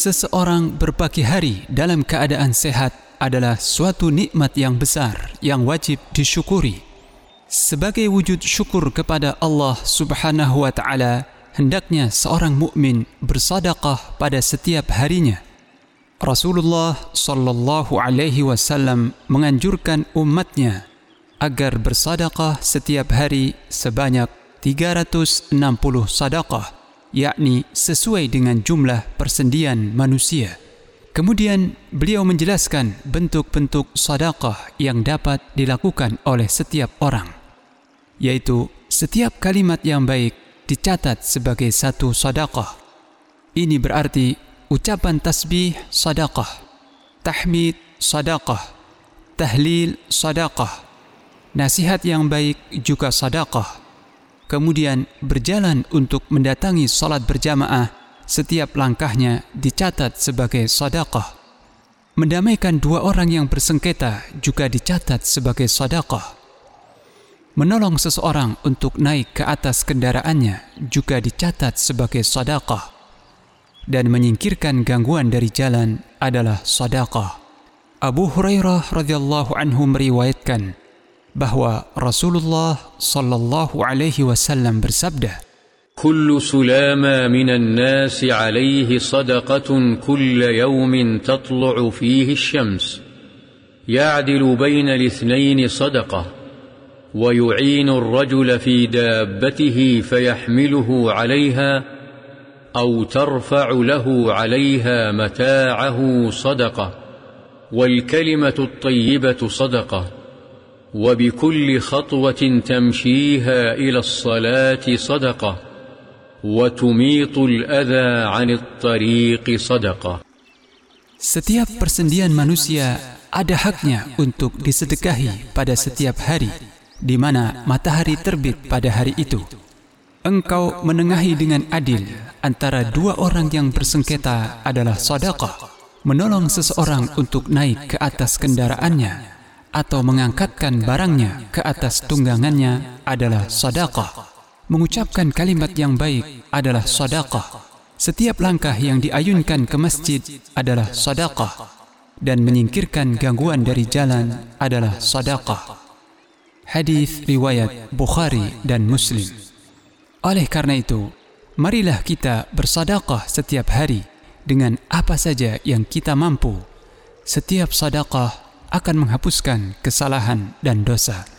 Seseorang berpagi hari dalam keadaan sehat adalah suatu nikmat yang besar yang wajib disyukuri. Sebagai wujud syukur kepada Allah Subhanahu wa Ta'ala, hendaknya seorang mukmin bersedekah pada setiap harinya. Rasulullah sallallahu alaihi wasallam menganjurkan umatnya agar bersedekah setiap hari sebanyak 360 sedekah, yakni sesuai dengan jumlah persendian manusia. Kemudian beliau menjelaskan bentuk-bentuk sedekah yang dapat dilakukan oleh setiap orang, yaitu setiap kalimat yang baik dicatat sebagai satu sedekah. Ini berarti ucapan tasbih sedekah, tahmid sedekah, tahlil sedekah, nasihat yang baik juga sedekah. Kemudian berjalan untuk mendatangi salat berjamaah, setiap langkahnya dicatat sebagai sedekah. Mendamaikan dua orang yang bersengketa juga dicatat sebagai sedekah. Menolong seseorang untuk naik ke atas kendaraannya juga dicatat sebagai sedekah. Dan menyingkirkan gangguan dari jalan adalah sedekah. Abu Hurairah radhiyallahu anhu meriwayatkan bahwa Rasulullah sallallahu alaihi wasallam bersabda, "Kullu sulama minan nasi alaihi sadaqatun kulla yawmin tatlu'u fihi asy-syams, ya'dilu baina al-ithnayn sadaqah, wa yu'inu ar-rajula fi dabbatihi fayahmiluhu 'alayha aw tarfa'u lahu 'alayha mata'ahu sadaqah, wal kalimatu at-tayyibatu sadaqah." وبكل خطوة تمشيها إلى الصلاة صدقة وتميط الأذى عن الطريق صدقة. Setiap persendian manusia ada haknya untuk disedekahi pada setiap hari di mana matahari terbit pada hari itu. Engkau menengahi dengan adil antara dua orang yang bersengketa adalah sedekah. Menolong seseorang untuk naik ke atas kendaraannya atau mengangkatkan barangnya ke atas tunggangannya adalah sedekah. Mengucapkan kalimat yang baik adalah sedekah. Setiap langkah yang diayunkan ke masjid adalah sedekah. Dan menyingkirkan gangguan dari jalan adalah sedekah. Hadis riwayat Bukhari dan Muslim. Oleh karena itu, marilah kita bersedekah setiap hari dengan apa saja yang kita mampu. Setiap sedekah akan menghapuskan kesalahan dan dosa.